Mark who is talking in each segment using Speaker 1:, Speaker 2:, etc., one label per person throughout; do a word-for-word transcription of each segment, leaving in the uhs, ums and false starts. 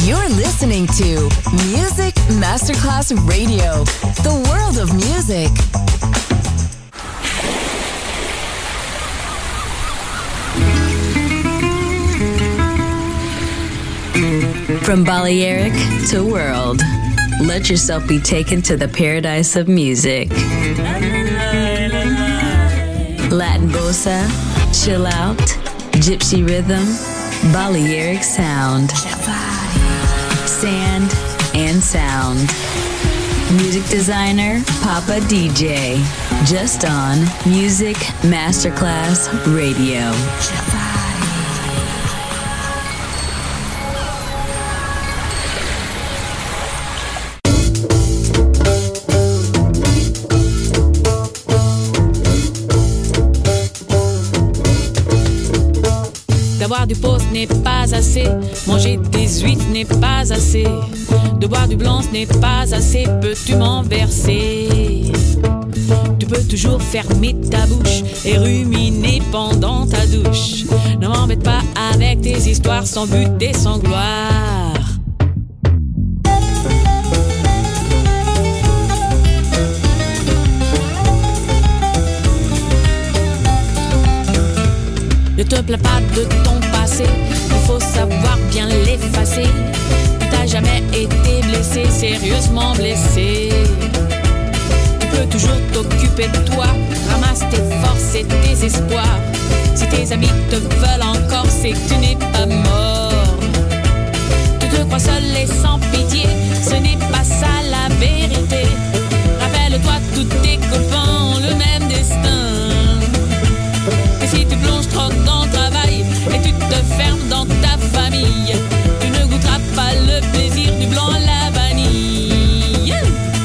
Speaker 1: You're listening to Music Masterclass Radio, the world of music. From Balearic to world, let yourself be taken to the paradise of music. Latin bossa, chill out, gypsy rhythm, Balearic sound, sand and sound. Music designer, Papa D J, just on Music Masterclass Radio.
Speaker 2: Boire du pot ce n'est pas assez, manger des huîtres n'est pas assez, de boire du blanc ce n'est pas assez, peux-tu m'en verser? Tu peux toujours fermer ta bouche et ruminer pendant ta douche. Ne m'embête pas avec tes histoires sans but et sans gloire. Ne te plains pas de ton passé, il faut savoir bien l'effacer. Tu t'as jamais été blessé, sérieusement blessé. Tu peux toujours t'occuper de toi, ramasse tes forces et tes espoirs. Si tes amis te veulent encore, c'est que tu n'es pas mort. Tu te crois seul et sans pitié, ce n'est pas ça la vérité. Rappelle-toi, tous tes copains ont le même destin. Et si tu plonges trop dans le travail et tu te fermes dans ta famille, tu ne goûteras pas le plaisir du blanc à la vanille. Yeah.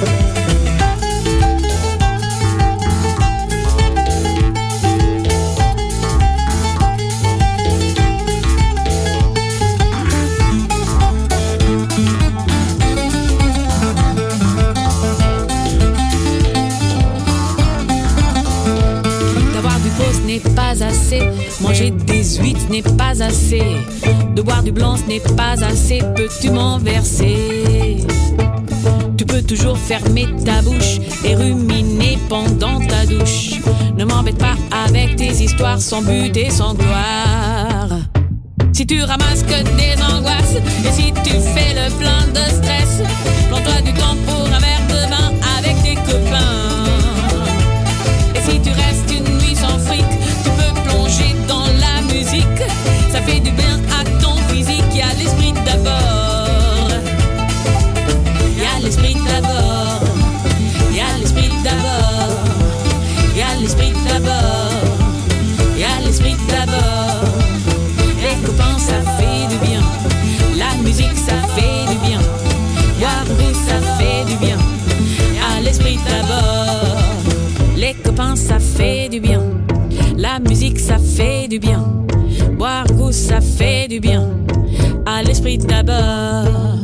Speaker 2: N'est pas assez, manger des huîtres n'est pas assez, de boire du blanc ce n'est pas assez, peux-tu m'en verser? Tu peux toujours fermer ta bouche et ruminer pendant ta douche. Ne m'embête pas avec tes histoires sans but et sans gloire. Si tu ramasses que des angoisses et si tu fais le plein de stress, prends-toi du temps pour un verre de vin avec tes copains. Et si tu restes une nuit sans fric, tu peux plonger dans la musique. Ça fait du bien à ton physique. Y a l'esprit d'abord. Y a l'esprit d'abord. Y a l'esprit d'abord. Y a l'esprit d'abord. Y a l'esprit d'abord. Les copains ça fait du bien. La musique ça fait du bien. Boire vous ça fait du bien. Y a l'esprit d'abord. Les copains ça fait du bien. La musique ça fait du bien. Boire goût ça fait du bien. À l'esprit d'abord.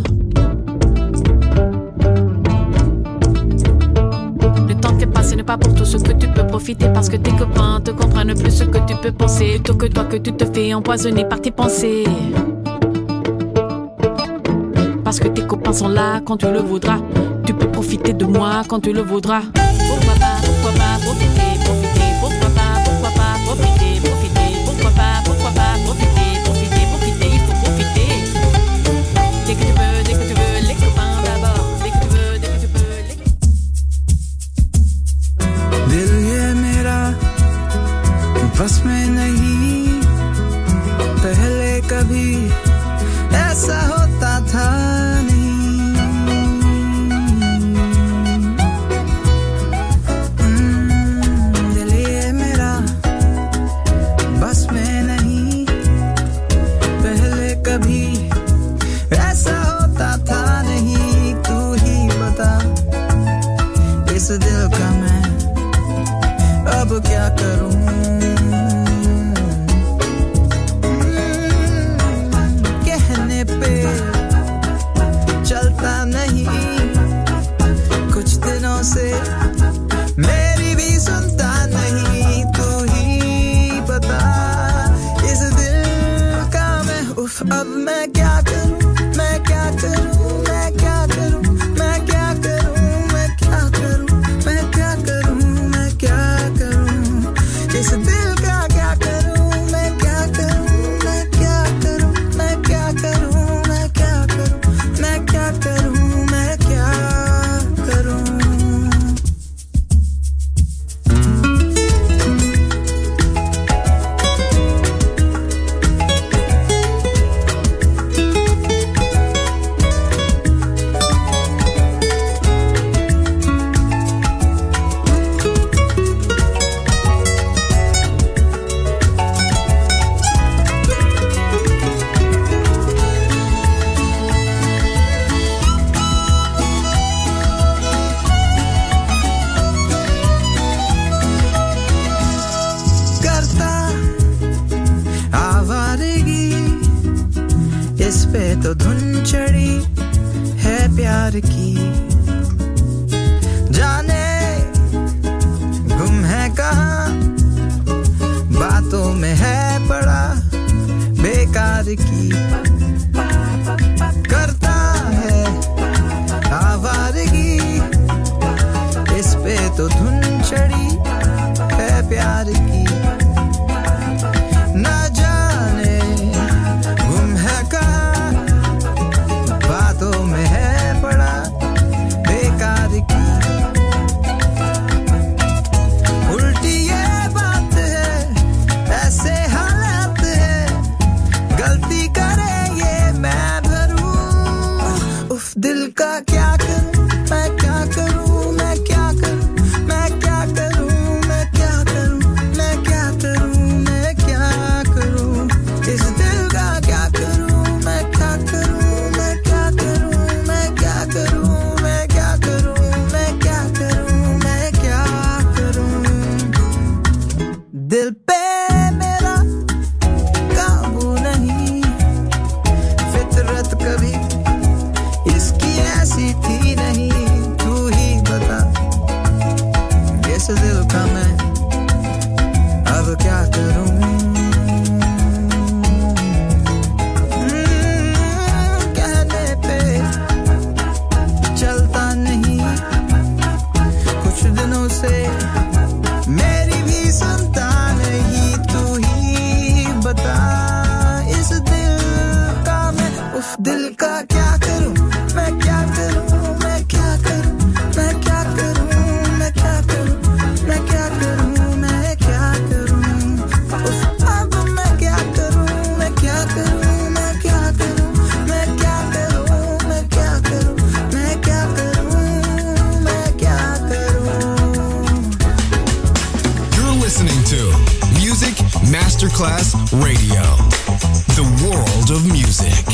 Speaker 2: Le temps qui est passé n'est pas pour tout ce que tu peux profiter, parce que tes copains te comprennent plus ce que tu peux penser, plutôt que toi que tu te fais empoisonner par tes pensées. Parce que tes copains sont là quand tu le voudras. Tu peux profiter de moi quand tu le voudras. Pourquoi pas, pourquoi pas profiter, profiter, pourquoi pas, pourquoi pas profiter, profiter, pourquoi pas, pourquoi pas profiter, profiter, profiter, il faut profiter. Dès que tu veux, dès que tu veux, les copains d'abord. Dès que tu veux, dès que tu peux, les...
Speaker 3: Dil ye mera bas mein nahi, pehle kabhi aisa hota tha nahi. दिल का मैं अब क्या करूं, कहने पे चलता नहीं, कुछ दिनों से मेरी भी सुनता नहीं, तू ही बता इस दिल का मैं उफ अब मैं क्या करूं, मैं क्या
Speaker 4: Masterclass Radio, the world of music.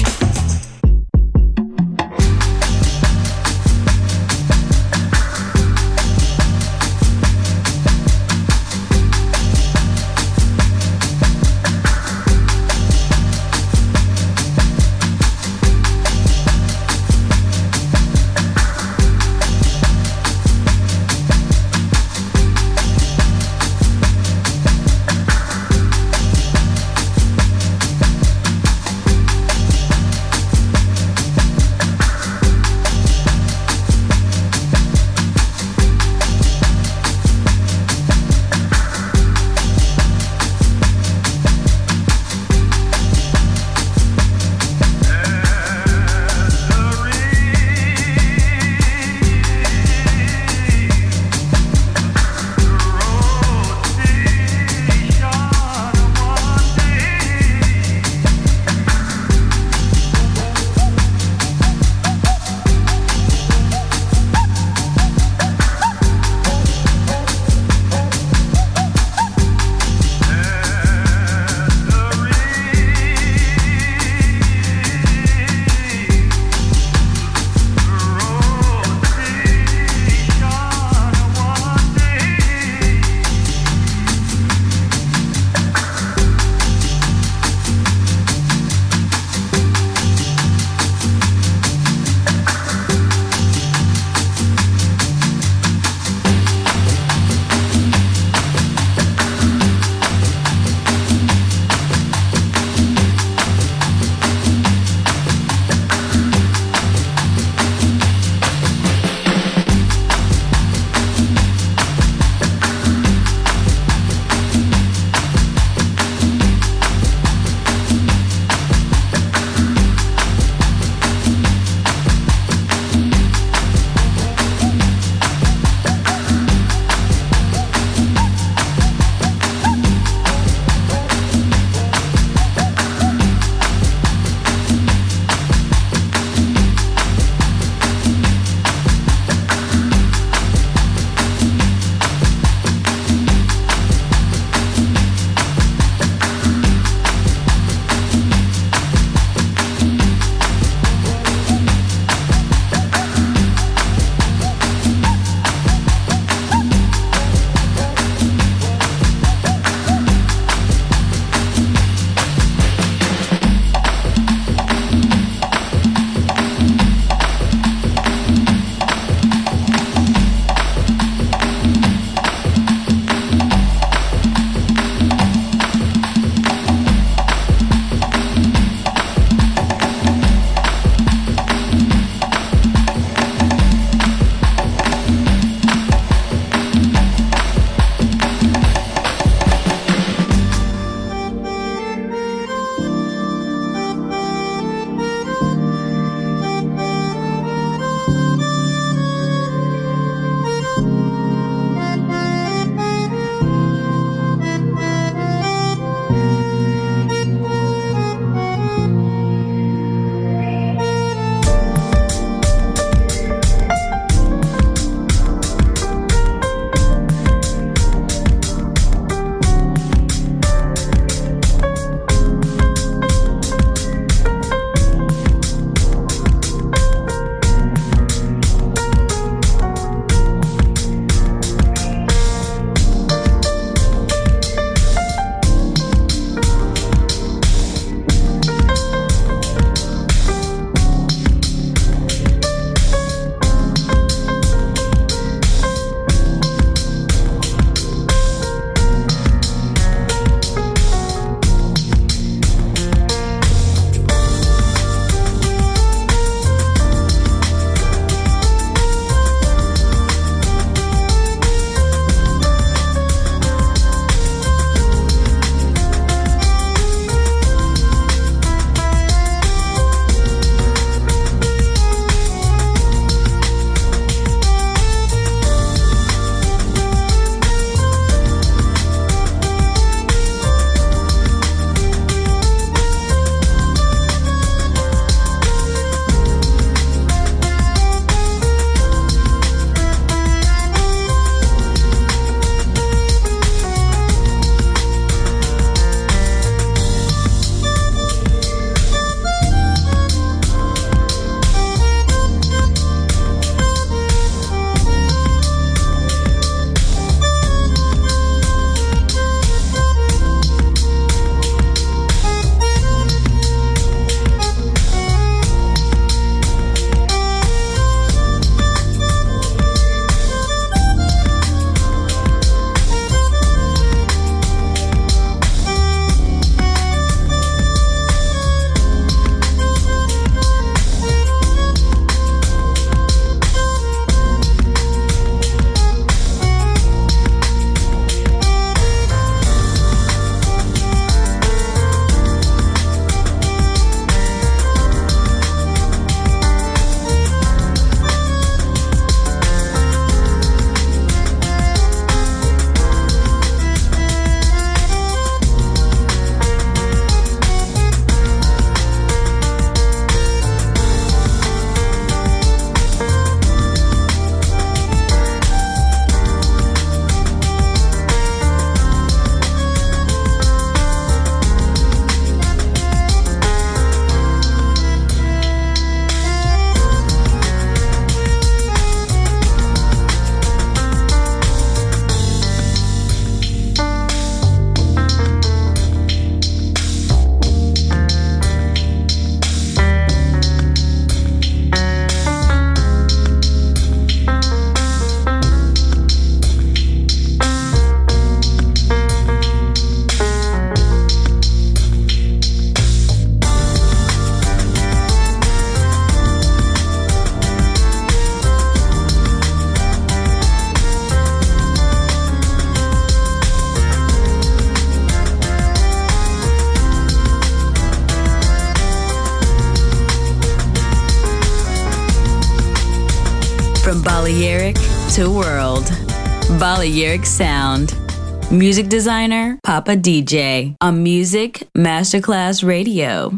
Speaker 1: From Balearic to world. Balearic Sound. Music designer, Papa D J. On Music Masterclass Radio.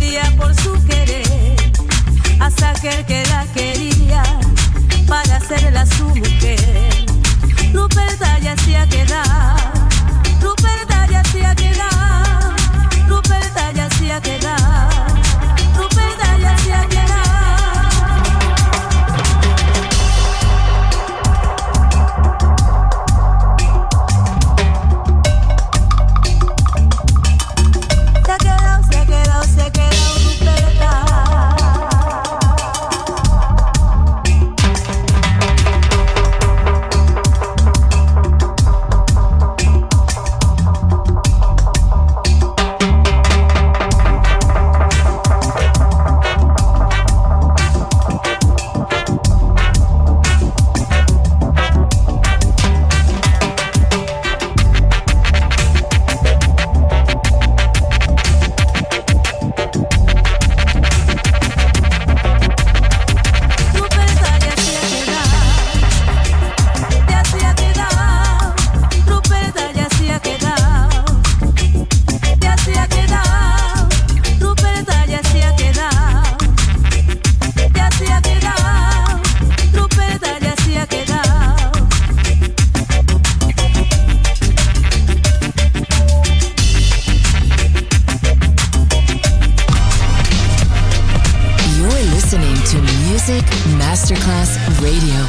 Speaker 5: moría por su querer, hasta aquel que la quería para hacerla su mujer. Ruperta ya se ha quedado, Ruperta ya se ha quedado, Ruperta ya se ha quedado, Ruperta ya se ha quedado.
Speaker 6: Masterclass Radio.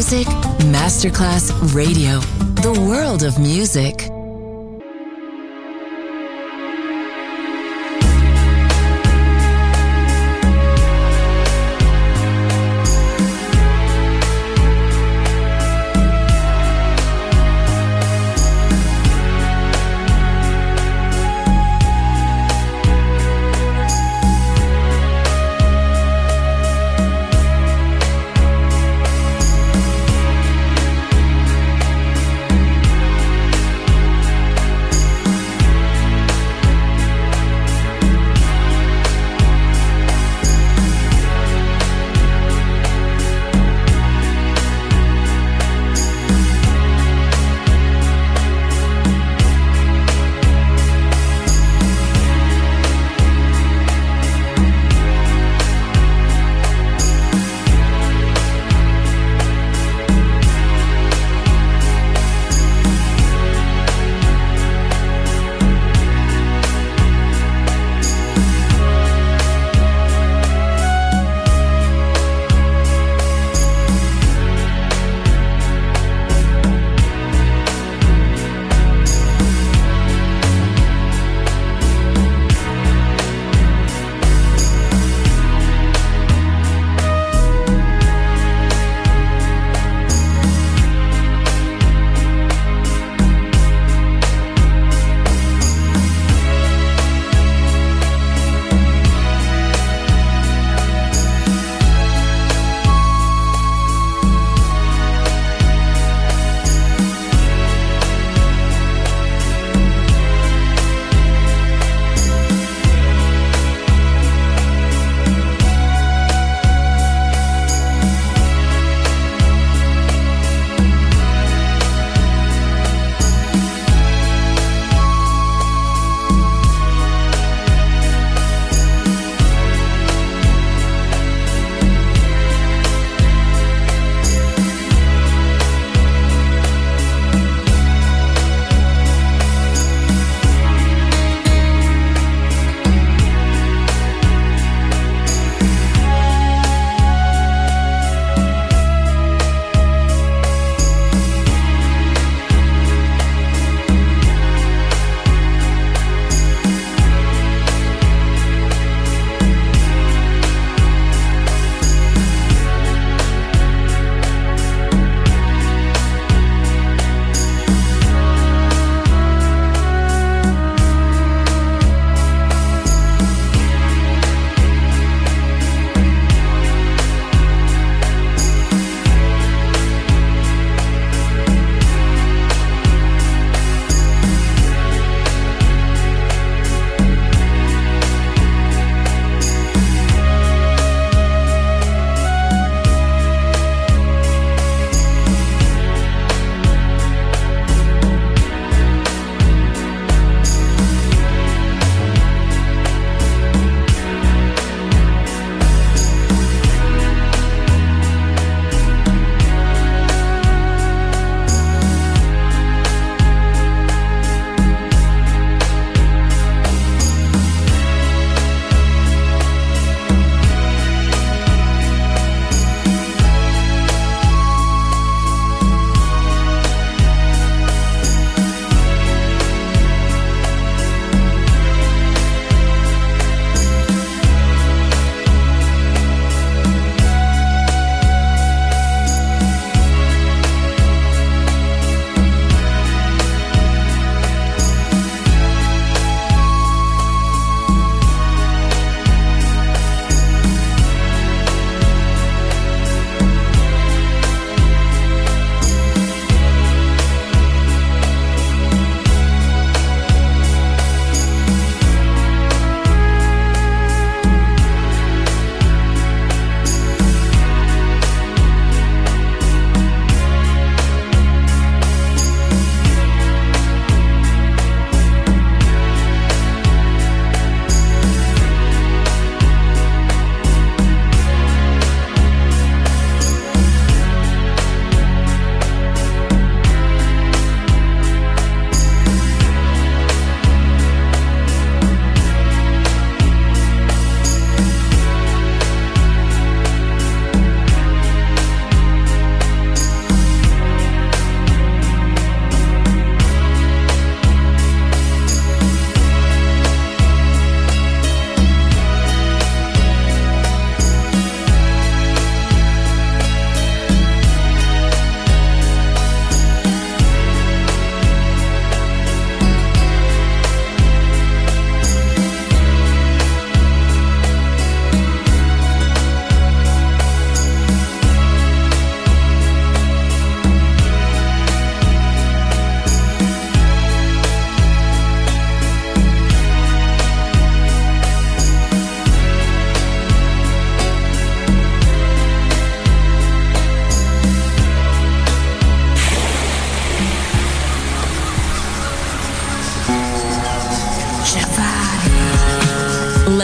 Speaker 6: Music Masterclass Radio. The world of music.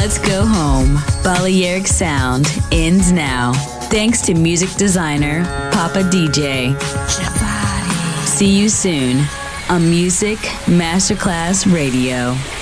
Speaker 1: Let's Go Home. Balearic Sound ends now. Thanks to music designer Papa D J. See you soon on Music Masterclass Radio.